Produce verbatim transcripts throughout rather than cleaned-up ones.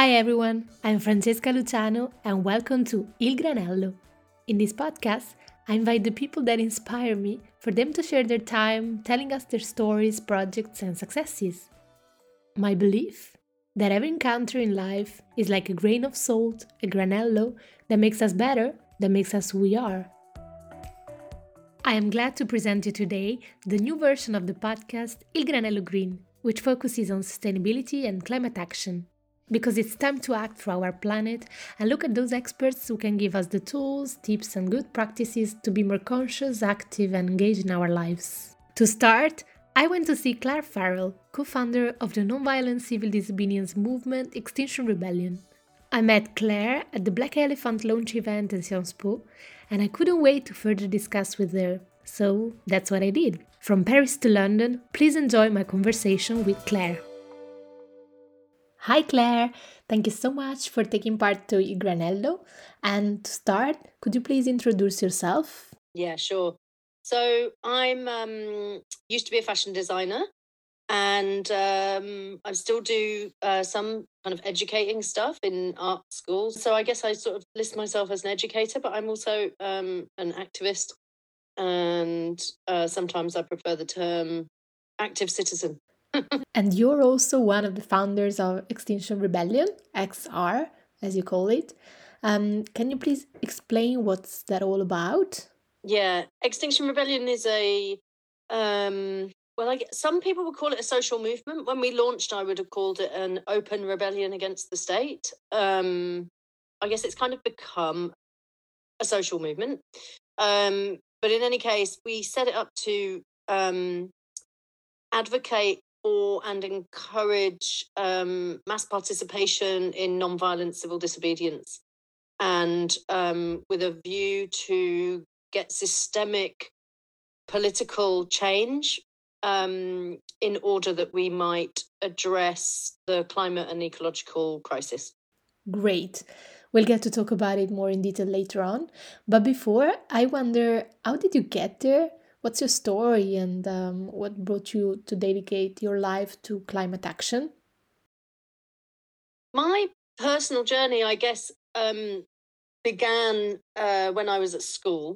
Hi everyone, I'm Francesca Luciano and welcome to Il Granello. In this podcast, I invite the people that inspire me for them to share their time telling us their stories, projects, and successes. My belief that every encounter in life is like a grain of salt, a granello that makes us better, that makes us who we are. I am glad to present you today the new version of the podcast Il Granello Green, which focuses on sustainability and climate action. Because it's time to act for our planet and look at those experts who can give us the tools, tips, and good practices to be more conscious, active, and engaged in our lives. To start, I went to see Claire Farrell, co-founder of the nonviolent civil disobedience movement Extinction Rebellion. I met Claire at the Black Elephant launch event at Sciences Po, and I couldn't wait to further discuss with her. So that's what I did. From Paris to London, please enjoy my conversation with Claire. Hi Claire, thank you so much for taking part to Il Granello. And to start, could you please introduce yourself? Yeah, sure. So I'm um, used to be a fashion designer, and um, I still do uh, some kind of educating stuff in art schools. So I guess I sort of list myself as an educator, but I'm also um, an activist, and uh, sometimes I prefer the term active citizen. And you're also one of the founders of Extinction Rebellion, X R, as you call it. Um, can you please explain what's that all about? Yeah, Extinction Rebellion is a um, well, I guess some people would call it a social movement. When we launched, I would have called it an open rebellion against the state. Um, I guess it's kind of become a social movement. Um, but in any case, we set it up to um, advocate for and encourage um, mass participation in nonviolent civil disobedience, and um, with a view to get systemic political change um, in order that we might address the climate and ecological crisis. Great. We'll get to talk about it more in detail later on. But before, I wonder, how did you get there? What's your story and um, what brought you to dedicate your life to climate action? My personal journey, I guess, um, began uh, when I was at school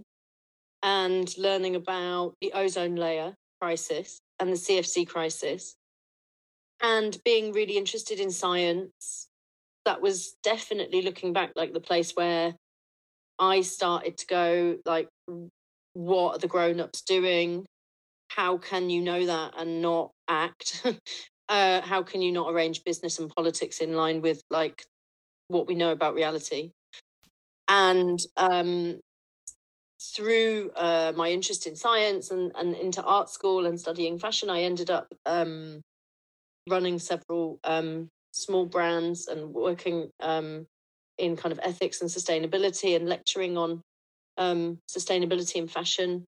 and learning about the ozone layer crisis and the C F C crisis, and being really interested in science. That was definitely, looking back, like the place where I started to go, like, what are the grown-ups doing? How can you know that and not act? uh, how can you not arrange business and politics in line with, like, what we know about reality? And um, through uh, my interest in science and, and into art school and studying fashion, I ended up um, running several um, small brands and working um, in kind of ethics and sustainability and lecturing on um, sustainability in fashion,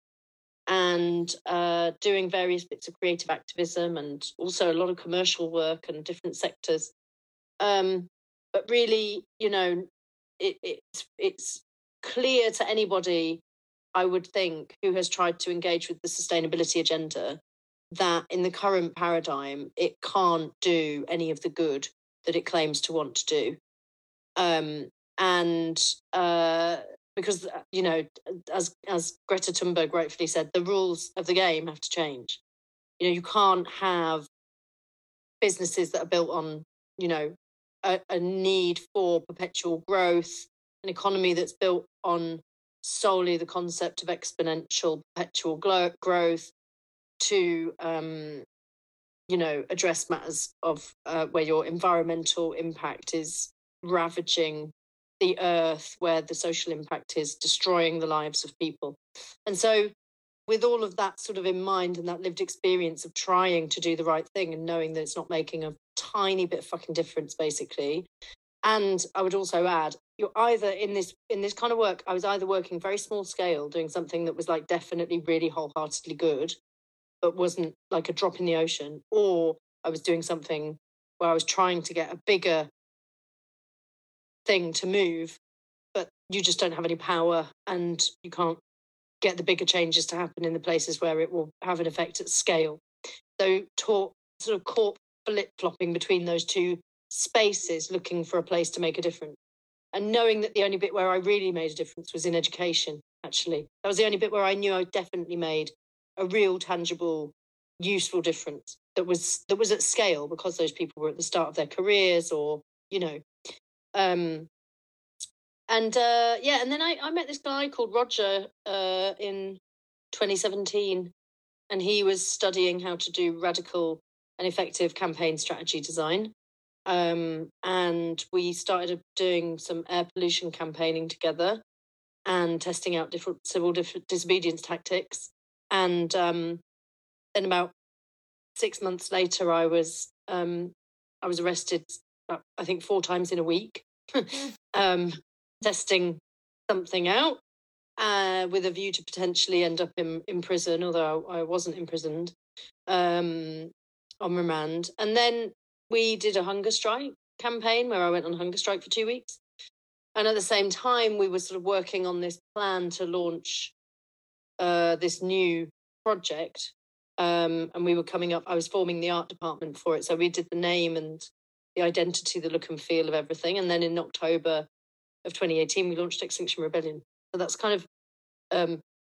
and uh, doing various bits of creative activism and also a lot of commercial work and different sectors. Um, but really, you know, it, it's it's clear to anybody, I would think, who has tried to engage with the sustainability agenda, that in the current paradigm, it can't do any of the good that it claims to want to do. Um, and uh, because, you know, as as Greta Thunberg rightfully said, the rules of the game have to change. You know, you can't have businesses that are built on, you know, a, a need for perpetual growth, an economy that's built on solely the concept of exponential perpetual glo- growth to, um, you know, address matters of uh, where your environmental impact is ravaging the earth, where the social impact is destroying the lives of people. And so, with all of that sort of in mind and that lived experience of trying to do the right thing and knowing that it's not making a tiny bit of fucking difference, basically. And I would also add, you're either in this in this kind of work, I was either working very small scale, doing something that was like definitely really wholeheartedly good, but wasn't like a drop in the ocean, or I was doing something where I was trying to get a bigger thing to move, but you just don't have any power and you can't get the bigger changes to happen in the places where it will have an effect at scale. So, taught sort of caught flip flopping between those two spaces looking for a place to make a difference. And knowing that the only bit where I really made a difference was in education, actually. That was the only bit where I knew I definitely made a real, tangible, useful difference that was that was at scale, because those people were at the start of their careers, or, you know. Um, and uh, yeah, and then I, I met this guy called Roger uh, in twenty seventeen, and he was studying how to do radical and effective campaign strategy design. Um, and we started doing some air pollution campaigning together and testing out different civil dis- disobedience tactics. And um, then about six months later, I was um, I was arrested, uh, I think, four times in a week, um, testing something out uh, with a view to potentially end up in, in prison, although I wasn't imprisoned, um, on remand. And then we did a hunger strike campaign where I went on hunger strike for two weeks. And at the same time, we were sort of working on this plan to launch uh, this new project. Um, and we were coming up, I was forming the art department for it. So we did the name and the identity, the look and feel of everything. And then in October of twenty eighteen, we launched Extinction Rebellion. So that's kind of um,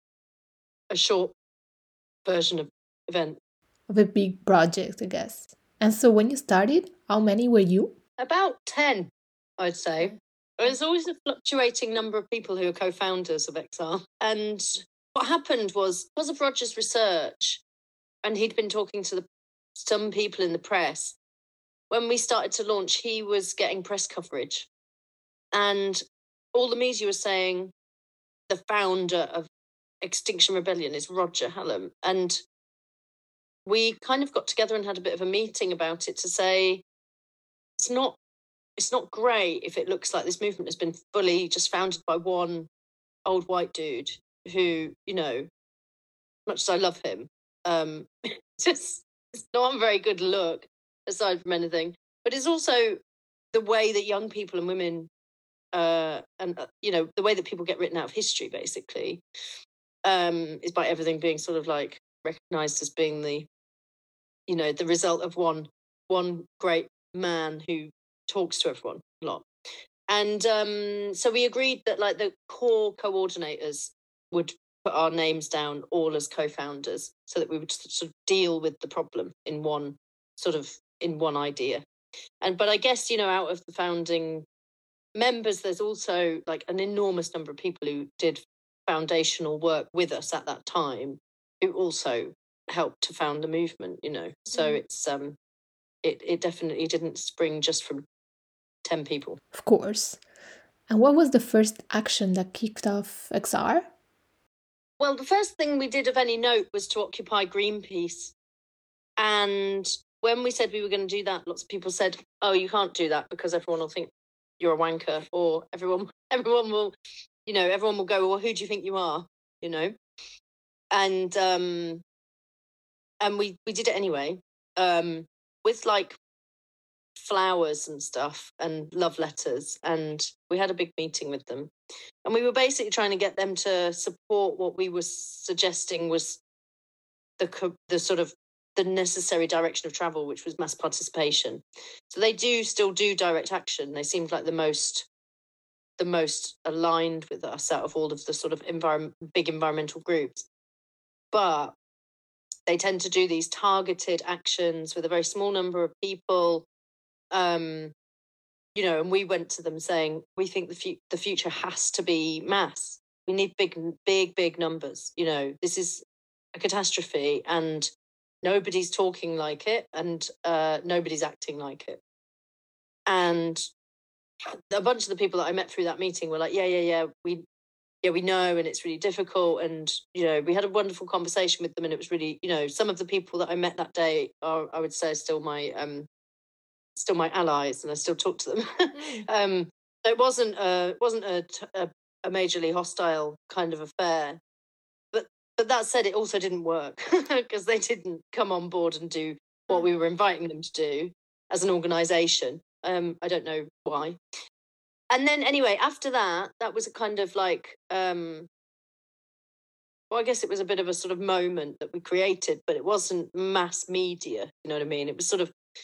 a short version of event. Of a big project, I guess. And so when you started, how many were you? About ten, I'd say. There's always a fluctuating number of people who are co-founders of X R. And what happened was, because of Roger's research, and he'd been talking to the, some people in the press, when we started to launch, he was getting press coverage. And all the media was saying the founder of Extinction Rebellion is Roger Hallam. And we kind of got together and had a bit of a meeting about it to say, it's not it's not great if it looks like this movement has been fully just founded by one old white dude who, you know, much as I love him, um, just it's not a very good look, aside from anything. But it's also the way that young people and women, uh, and uh, you know, the way that people get written out of history, basically, um, is by everything being sort of like recognised as being the, you know, the result of one one great man who talks to everyone a lot. And um, so we agreed that like the core coordinators would put our names down all as co-founders, so that we would sort of deal with the problem in one sort of in one idea. And but I guess, you know, out of the founding members, there's also like an enormous number of people who did foundational work with us at that time, who also helped to found the movement, you know. So mm. it's um it it definitely didn't spring just from ten people. Of course. And what was the first action that kicked off X R? Well, the first thing we did of any note was to occupy Greenpeace. And when we said we were going to do that, lots of people said, oh, you can't do that because everyone will think you're a wanker, or everyone everyone will, you know, everyone will go, well, who do you think you are? You know? And um and we we did it anyway, um, with like flowers and stuff and love letters, and we had a big meeting with them, and we were basically trying to get them to support what we were suggesting was the the sort of the necessary direction of travel, which was mass participation. So they do still do direct action. They seemed like the most the most aligned with us out of all of the sort of environment big environmental groups, but they tend to do these targeted actions with a very small number of people. Um, you know, and we went to them saying, we think the, fu- the future has to be mass. We need big, big, big numbers. You know, this is a catastrophe and nobody's talking like it, and uh, nobody's acting like it. And a bunch of the people that I met through that meeting were like, yeah, yeah, yeah, we yeah, we know, and it's really difficult. And, you know, we had a wonderful conversation with them, and it was really, you know, some of the people that I met that day are, I would say, still my, um, still my allies, and I still talk to them. Mm. um, it wasn't a, it wasn't a, a, a majorly hostile kind of affair, but, but that said, it also didn't work because they didn't come on board and do what we were inviting them to do as an organisation. Um, I don't know why. And then anyway, after that, that was a kind of like, um, well, I guess it was a bit of a sort of moment that we created, but it wasn't mass media, you know what I mean? It was sort of, mm.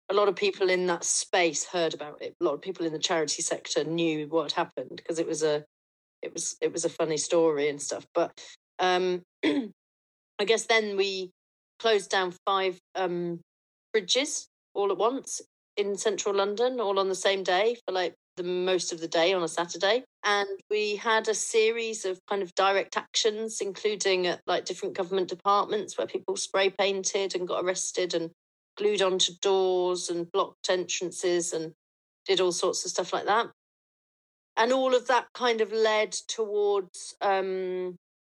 a lot of people in that space heard about it. A lot of people in the charity sector knew what had happened because it was a, it was it was a funny story and stuff. But um, I guess then we closed down five um, bridges all at once in central London, all on the same day for like the most of the day on a Saturday. And we had a series of kind of direct actions, including at like different government departments where people spray painted and got arrested and glued onto doors and blocked entrances and did all sorts of stuff like that. And all of that kind of led towards um,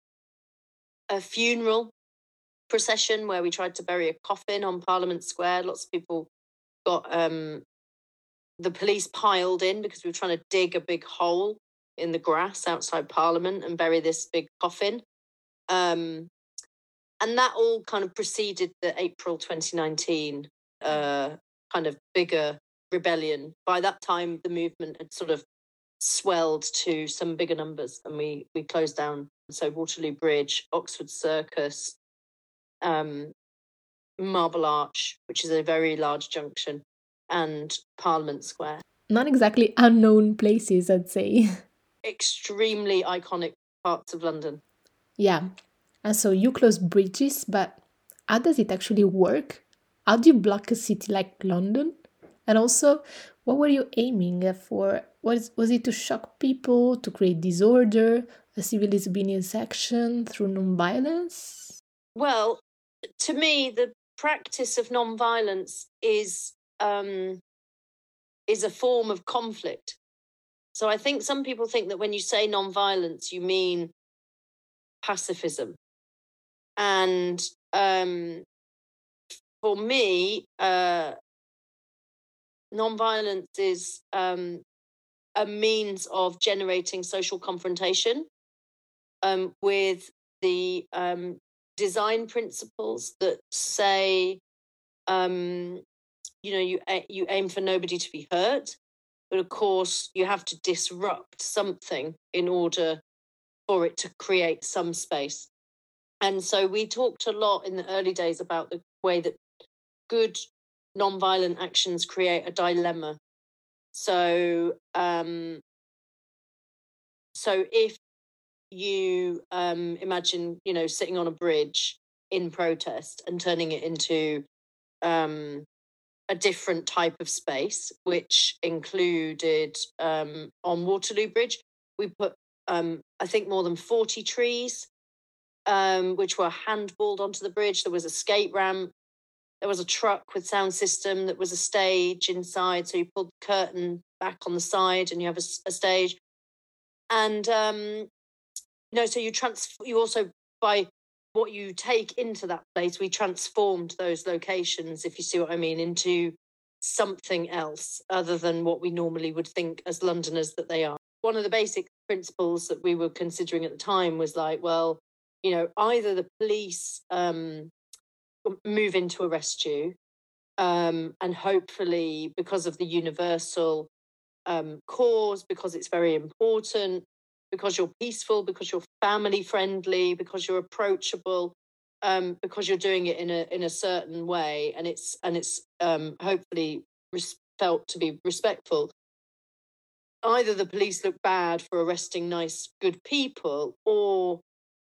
a funeral procession where we tried to bury a coffin on Parliament Square. Lots of people got um, the police piled in because we were trying to dig a big hole in the grass outside Parliament and bury this big coffin. Um, and that all kind of preceded the April twenty nineteen uh, kind of bigger rebellion. By that time, the movement had sort of swelled to some bigger numbers, and we we closed down. So Waterloo Bridge, Oxford Circus, um, Marble Arch, which is a very large junction, and Parliament Square. Not exactly unknown places, I'd say. Extremely iconic parts of London. Yeah. And so you close bridges, but how does it actually work? How do you block a city like London? And also, what were you aiming for? Was, was it to shock people, to create disorder, a civil disobedience action through non-violence? Well, to me, the practice of non-violence is um, is a form of conflict. So I think some people think that when you say non-violence, you mean pacifism. And um, for me, uh, non-violence is um, a means of generating social confrontation um, with the um, design principles that say, um, you know, you you aim for nobody to be hurt, but of course you have to disrupt something in order for it to create some space. And so we talked a lot in the early days about the way that good non-violent actions create a dilemma. So, um, so if you um, imagine, you know, sitting on a bridge in protest and turning it into um, a different type of space, which included um, on Waterloo Bridge, we put, um, I think, more than forty trees, um, which were handballed onto the bridge. There was a skate ramp. There was a truck with sound system that was a stage inside. So you pulled the curtain back on the side and you have a, a stage. And, um, you know, so you trans- you also, by what you take into that place, we transformed those locations, if you see what I mean, into something else other than what we normally would think as Londoners that they are. One of the basic principles that we were considering at the time was like, well, you know, either the police um, move in to arrest you, um, and hopefully because of the universal um, cause, because it's very important, because you're peaceful, because you're family friendly, because you're approachable, um, because you're doing it in a in a certain way, and it's and it's um, hopefully res- felt to be respectful. Either the police look bad for arresting nice, good people, or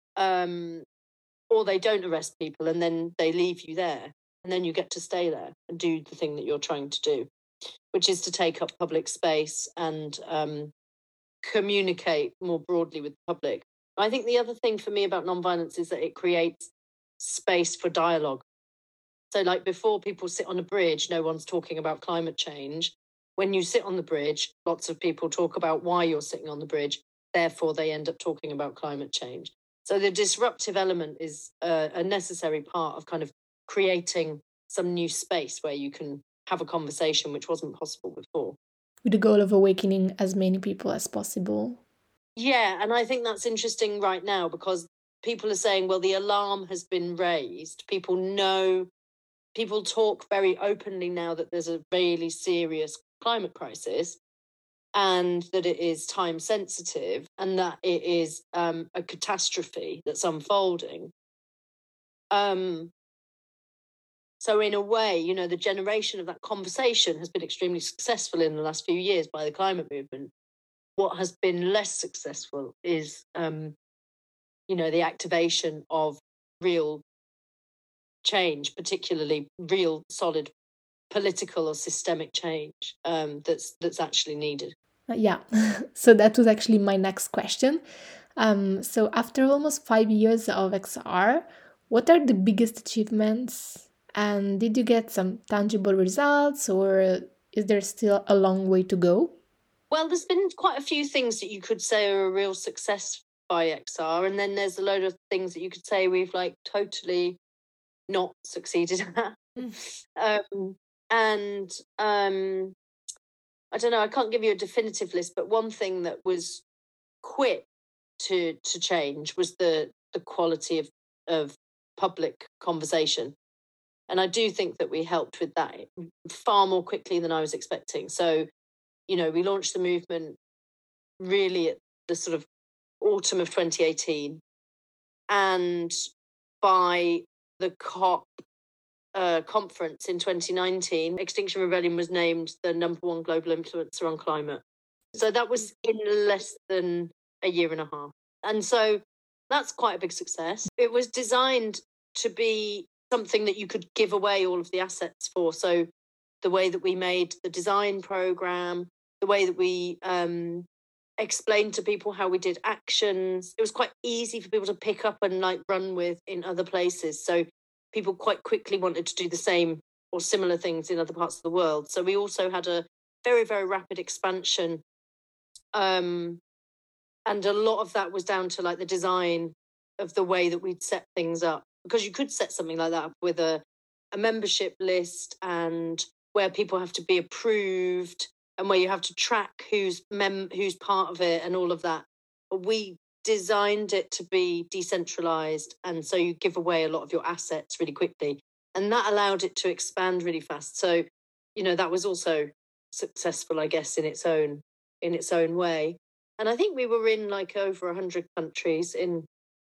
um, or they don't arrest people and then they leave you there, and then you get to stay there and do the thing that you're trying to do, which is to take up public space and um, communicate more broadly with the public. I think the other thing for me about nonviolence is that it creates space for dialogue. So like before people sit on a bridge, no one's talking about climate change. When you sit on the bridge, lots of people talk about why you're sitting on the bridge. Therefore, they end up talking about climate change. So the disruptive element is a, a necessary part of kind of creating some new space where you can have a conversation which wasn't possible before. With the goal of awakening as many people as possible. Yeah, and I think that's interesting right now because people are saying, well, the alarm has been raised. People know, people talk very openly now that there's a really serious climate crisis and that it is time sensitive and that it is um, a catastrophe that's unfolding. Um, So in a way, you know, the generation of that conversation has been extremely successful in the last few years by the climate movement. What has been less successful is, um, you know, the activation of real change, particularly real solid political or systemic change um, that's that's actually needed. Uh, yeah, so that was actually my next question. Um, so after almost five years of X R, what are the biggest achievements? And did you get some tangible results, or is there still a long way to go? Well, there's been quite a few things that you could say are a real success by X R, and then there's a load of things that you could say we've like totally not succeeded at. um, and um, I don't know, I can't give you a definitive list, but one thing that was quick to to change was the the quality of of public conversation. And I do think that we helped with that far more quickly than I was expecting. So, you know, we launched the movement really at the sort of autumn of twenty eighteen. And by the COP uh, conference in twenty nineteen, Extinction Rebellion was named the number one global influencer on climate. So that was in less than a year and a half. And so that's quite a big success. It was designed to be something that you could give away all of the assets for. So the way that we made the design program, the way that we um, explained to people how we did actions, it was quite easy for people to pick up and like run with in other places. So people quite quickly wanted to do the same or similar things in other parts of the world. So we also had a very, very rapid expansion. Um, and a lot of that was down to like the design of the way that we'd set things up, because you could set something like that up with a, a membership list and where people have to be approved and where you have to track who's mem who's part of it and all of that. But we designed it to be decentralized, and so you give away a lot of your assets really quickly, and that allowed it to expand really fast. So, you know, that was also successful, I guess, in its own in its own way. And I think we were in like over a hundred countries in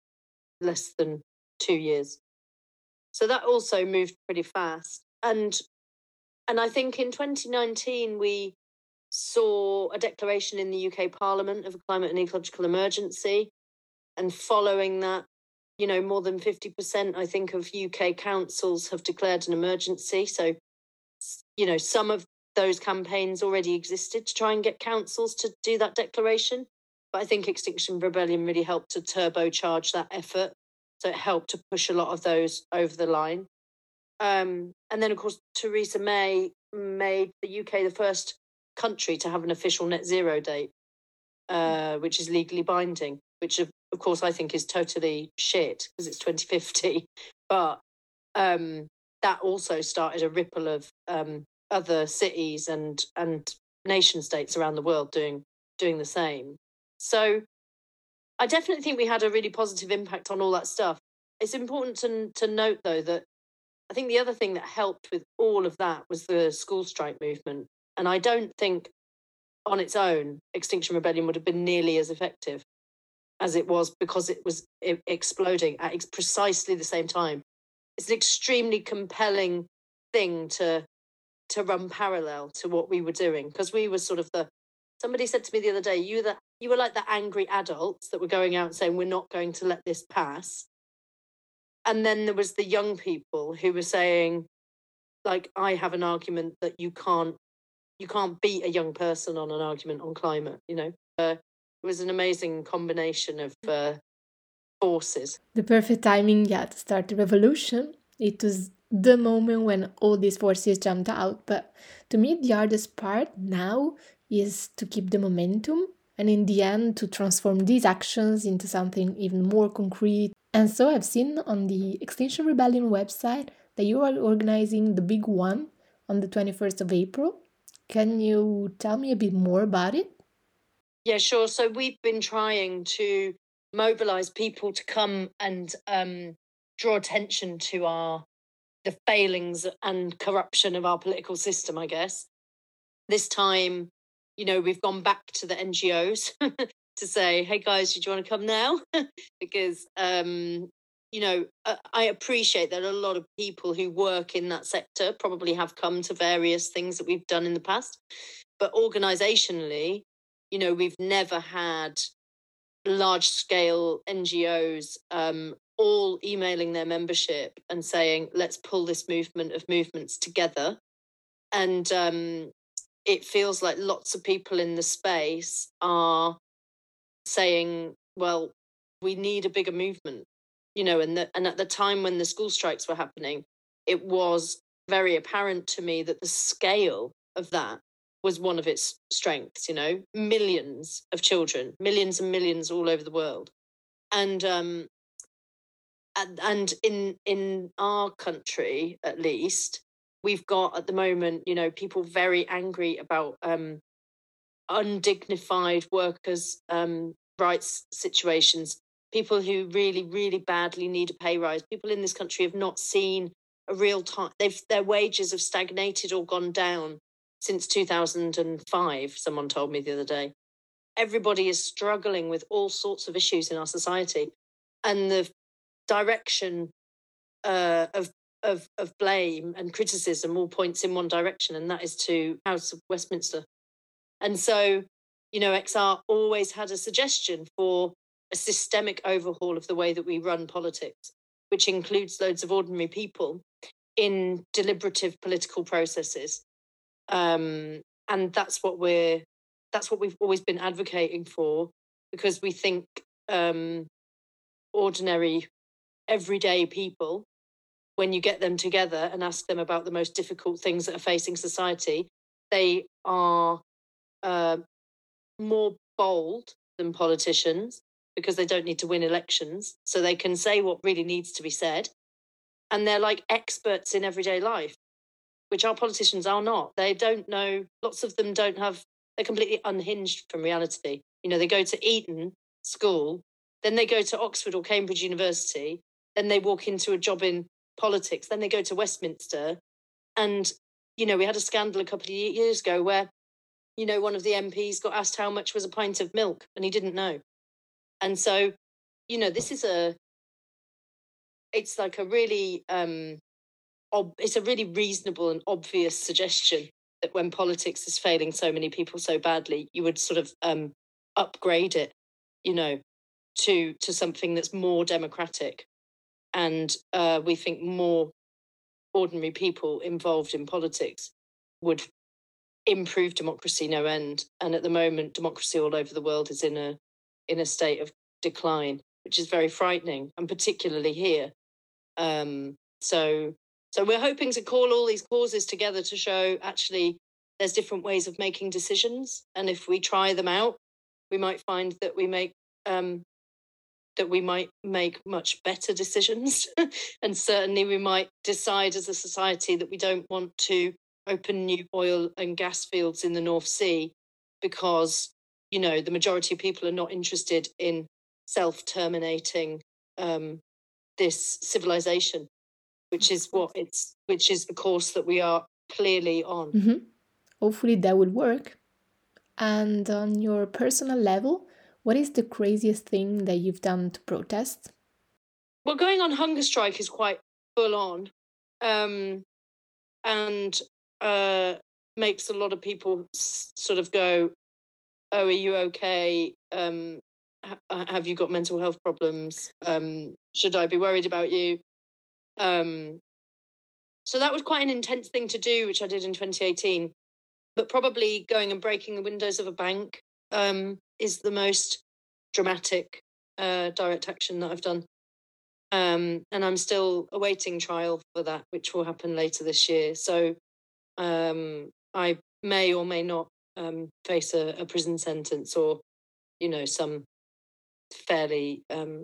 less than two years. So that also moved pretty fast. And and I think in twenty nineteen we saw a declaration in the U K Parliament of a climate and ecological emergency. And following that, you know, more than fifty percent, I think, of U K councils have declared an emergency. So, you know, some of those campaigns already existed to try and get councils to do that declaration. But I think Extinction Rebellion really helped to turbocharge that effort. So it helped to push a lot of those over the line. Um, and then, of course, Theresa May made the U K the first country to have an official net zero date, uh, which is legally binding, which, of, of course, I think is totally shit because it's twenty fifty. But um, that also started a ripple of um, other cities and and nation states around the world doing doing the same. So I definitely think we had a really positive impact on all that stuff. It's important to to note, though, that I think the other thing that helped with all of that was the school strike movement. And I don't think on its own, Extinction Rebellion would have been nearly as effective as it was, because it was exploding at precisely the same time. It's an extremely compelling thing to to run parallel to what we were doing, because we were sort of the, somebody said to me the other day, you that you were like the angry adults that were going out and saying, we're not going to let this pass. And then there was the young people who were saying, like, I have an argument that you can't you can't beat a young person on an argument on climate, you know. Uh, it was an amazing combination of uh, forces. The perfect timing, yeah, to start the revolution. It was the moment when all these forces jumped out. But to me, the hardest part now is to keep the momentum and in the end to transform these actions into something even more concrete. And so I've seen on the Extinction Rebellion website that you are organizing the big one on the twenty-first of April. Can you tell me a bit more about it? Yeah, sure. So we've been trying to mobilize people to come and um, draw attention to our the failings and corruption of our political system, I guess. This time, you know, we've gone back to the N G Os to say, hey guys, do you want to come now? Because um, you know, uh, I appreciate that a lot of people who work in that sector probably have come to various things that we've done in the past. But organizationally, you know, we've never had large scale N G Os um, all emailing their membership and saying, let's pull this movement of movements together. And um, it feels like lots of people in the space are saying, well, we need a bigger movement, you know, and, the, and at the time when the school strikes were happening, it was very apparent to me that the scale of that was one of its strengths, you know, millions of children, millions and millions all over the world. And um, and, and in in our country, at least, we've got at the moment, you know, people very angry about um, undignified workers' um, rights situations, people who really, really badly need a pay rise. People in this country have not seen a real time. They've their wages have stagnated or gone down since two thousand five. Someone told me the other day. Everybody is struggling with all sorts of issues in our society, and the direction uh, of of of blame and criticism all points in one direction, and that is to House of Westminster. And so, you know, X R always had a suggestion for a systemic overhaul of the way that we run politics, which includes loads of ordinary people in deliberative political processes. Um, and that's what we're, that's what we've always been advocating for, because we think um, ordinary, everyday people, when you get them together and ask them about the most difficult things that are facing society, they are uh, more bold than politicians because they don't need to win elections. So they can say what really needs to be said. And they're like experts in everyday life, which our politicians are not. They don't know, lots of them don't have, they're completely unhinged from reality. You know, they go to Eton school, then they go to Oxford or Cambridge University, then they walk into a job in politics, then they go to Westminster. And, you know, we had a scandal a couple of years ago where, you know, one of the M Ps got asked how much was a pint of milk and he didn't know. And so, you know, this is a, it's like a really, um, ob- it's a really reasonable and obvious suggestion that when politics is failing so many people so badly, you would sort of um, upgrade it, you know, to to something that's more democratic. And uh, we think more ordinary people involved in politics would improve democracy no end. And at the moment, democracy all over the world is in a in a state of decline, which is very frightening, and particularly here. Um, so so we're hoping to call all these causes together to show actually there's different ways of making decisions, and if we try them out, we might find that we make um, that we might make much better decisions, and certainly we might decide as a society that we don't want to open new oil and gas fields in the North Sea because, you know, the majority of people are not interested in self-terminating um, this civilization, which is what it's, which is the course that we are clearly on. Mm-hmm. Hopefully that will work. And on your personal level, what is the craziest thing that you've done to protest? Well, going on hunger strike is quite full on, um, and uh, makes a lot of people s- sort of go, "Oh, are you okay? Um, ha- have you got mental health problems? Um, should I be worried about you?" Um, so that was quite an intense thing to do, which I did in twenty eighteen. But probably going and breaking the windows of a bank um, is the most dramatic uh, direct action that I've done. Um, and I'm still awaiting trial for that, which will happen later this year. So um, I may or may not um, face a, a prison sentence or, you know, some fairly um,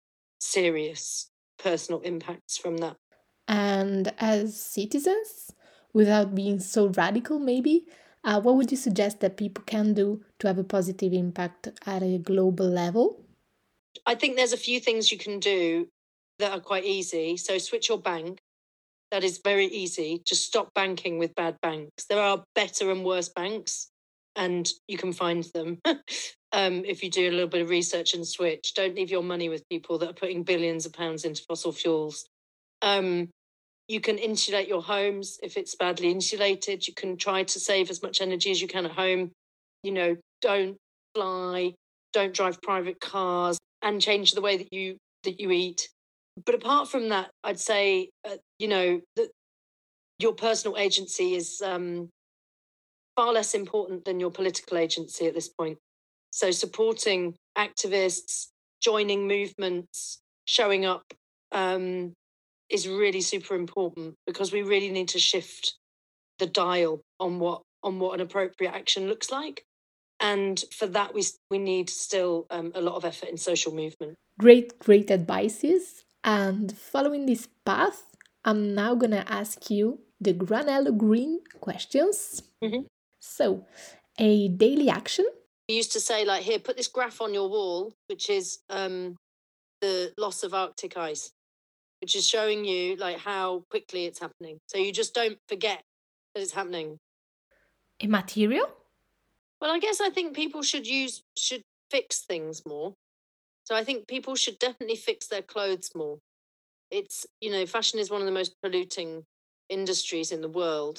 serious personal impacts from that. And as citizens, without being so radical, maybe, uh, what would you suggest that people can do to have a positive impact at a global level? I think there's a few things you can do that are quite easy. So switch your bank. That is very easy. Just stop banking with bad banks. There are better and worse banks, and you can find them. Um, if you do a little bit of research and switch, don't leave your money with people that are putting billions of pounds into fossil fuels. Um, you can insulate your homes if it's badly insulated. You can try to save as much energy as you can at home. You know, don't fly, don't drive private cars, and change the way that you that you eat. But apart from that, I'd say, uh, you know, that your personal agency is um, far less important than your political agency at this point. So supporting activists, joining movements, showing up um, is really super important, because we really need to shift the dial on what on what an appropriate action looks like. And for that, we we need still um, a lot of effort in social movement. Great, great advices. And following this path, I'm now gonna ask you the Granello Green questions. Mhm. So, a daily action. We used to say, like, here, put this graph on your wall, which is um, the loss of Arctic ice, which is showing you like how quickly it's happening. So you just don't forget that it's happening. A material. Well, I guess I think people should use should fix things more. So I think people should definitely fix their clothes more. It's, you know, fashion is one of the most polluting industries in the world.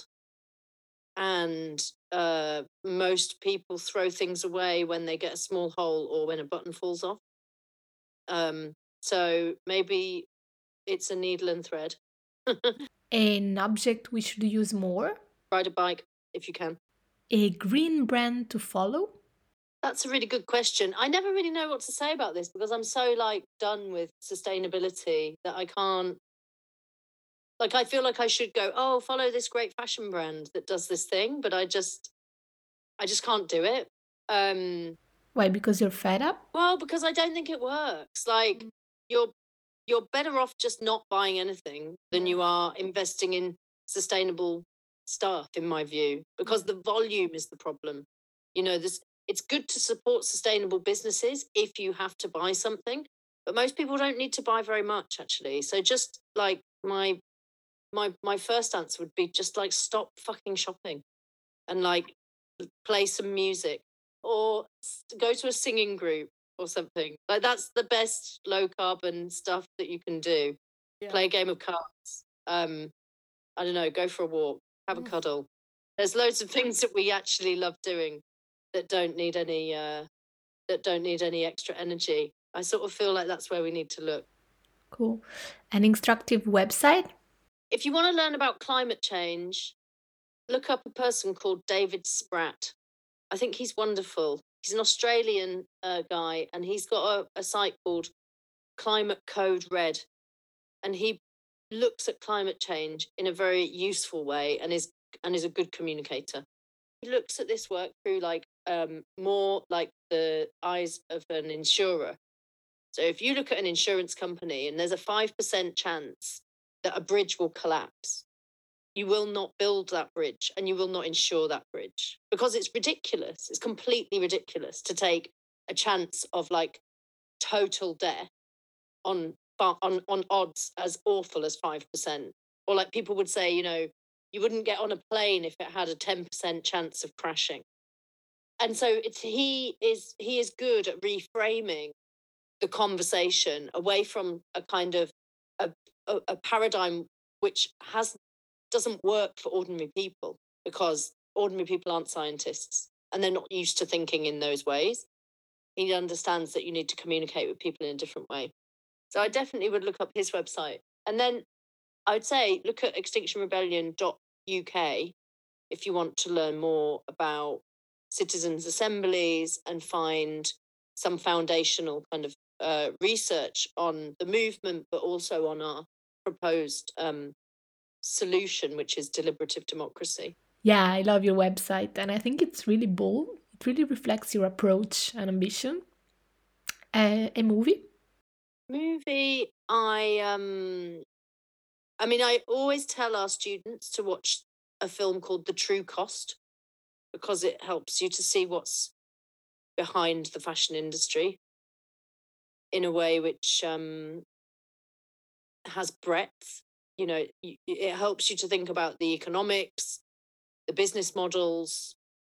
And uh, most people throw things away when they get a small hole or when a button falls off. Um, so maybe it's a needle and thread. An object we should use more. Ride a bike if you can. A green brand to follow. That's a really good question. I never really know what to say about this, because I'm so like done with sustainability that I can't, like, I feel like I should go, oh, follow this great fashion brand that does this thing, but I just I just can't do it. Um Why? Because you're fed up? well, because I don't think it works. Like, you're you're better off just not buying anything than you are investing in sustainable stuff, in my view, because the volume is the problem. You know, this it's good to support sustainable businesses if you have to buy something, but most people don't need to buy very much, actually. So just like my my my first answer would be just like stop fucking shopping and like play some music or s- go to a singing group or something. Like, that's the best low carbon stuff that you can do. Yeah. Play a game of cards. Um, I don't know, go for a walk, have a cuddle. There's loads of things that we actually love doing that don't need any uh, that don't need any extra energy. I sort of feel like that's where we need to look. Cool. An instructive website. If you want to learn about climate change, look up a person called David Spratt. I think he's wonderful. He's an Australian uh, guy, and he's got a, a site called Climate Code Red, and he looks at climate change in a very useful way, and is and is a good communicator. He looks at this work through like um, more like the eyes of an insurer. So if you look at an insurance company and there's a five percent chance that a bridge will collapse, you will not build that bridge and you will not insure that bridge, because it's ridiculous. It's completely ridiculous to take a chance of like total death on on on odds as awful as five percent. Or like people would say, you know, you wouldn't get on a plane if it had a ten percent chance of crashing. And so it's he is he is good at reframing the conversation away from a kind of a, a, a paradigm which has doesn't work for ordinary people, because ordinary people aren't scientists and they're not used to thinking in those ways. He understands that you need to communicate with people in a different way. So I definitely would look up his website. And then I would say look at extinction rebellion dot U K if you want to learn more about citizens' assemblies and find some foundational kind of uh, research on the movement, but also on our proposed um, solution, which is deliberative democracy. Yeah, I love your website, and I think it's really bold. It really reflects your approach and ambition. Uh, a movie. Movie, I um, I mean, I always tell our students to watch a film called The True Cost, because it helps you to see what's behind the fashion industry in a way which um, has breadth. You know, it helps you to think about the economics, the business models,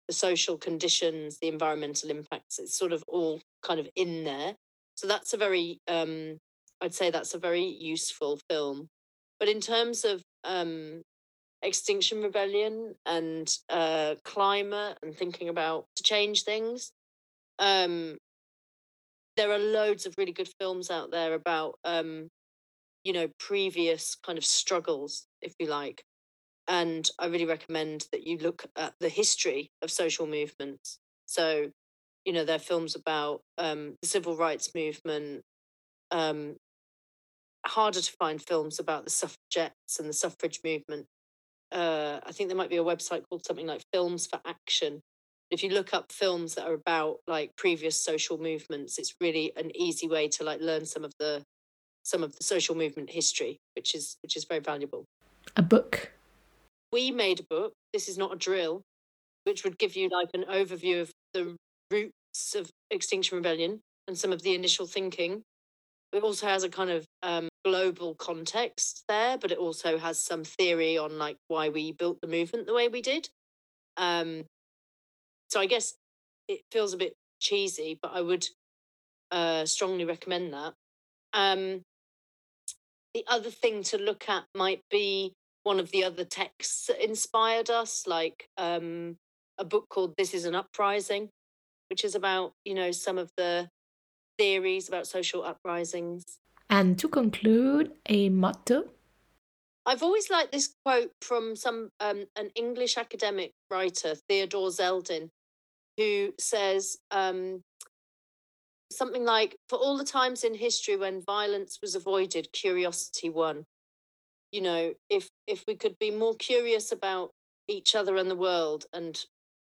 the social conditions, the environmental impacts. It's sort of all kind of in there. So that's a very, um, I'd say that's a very useful film. But in terms of um, Extinction Rebellion and uh, climate and thinking about to change things, um, there are loads of really good films out there about, um, you know, previous kind of struggles, if you like. And I really recommend that you look at the history of social movements. So, you know, there are films about um, the civil rights movement. Um, harder to find films about the suffragettes and the suffrage movement. Uh, I think there might be a website called something like Films for Action. If you look up films that are about like previous social movements, it's really an easy way to like learn some of the some of the social movement history, which is which is very valuable. A book. We made a book. This is not a drill, which would give you like an overview of the roots of Extinction Rebellion and some of the initial thinking. It also has a kind of um, global context there, but it also has some theory on like why we built the movement the way we did. Um, so I guess it feels a bit cheesy, but I would uh, strongly recommend that. Um, the other thing to look at might be one of the other texts that inspired us, like um, a book called This is an Uprising, which is about, you know, some of the theories about social uprisings. And to conclude, a motto. I've always liked this quote from some um, an English academic writer, Theodore Zeldin, who says um, something like, "For all the times in history when violence was avoided, curiosity won." You know, if if we could be more curious about each other and the world and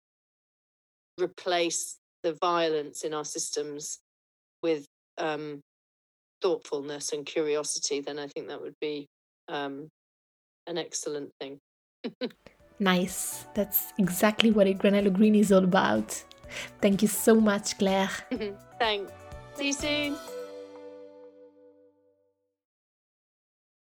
replace the violence in our systems with um, thoughtfulness and curiosity, then I think that would be um, an excellent thing. Nice. That's exactly what Il Granello Green is all about. Thank you so much, Claire. Thanks. See you soon.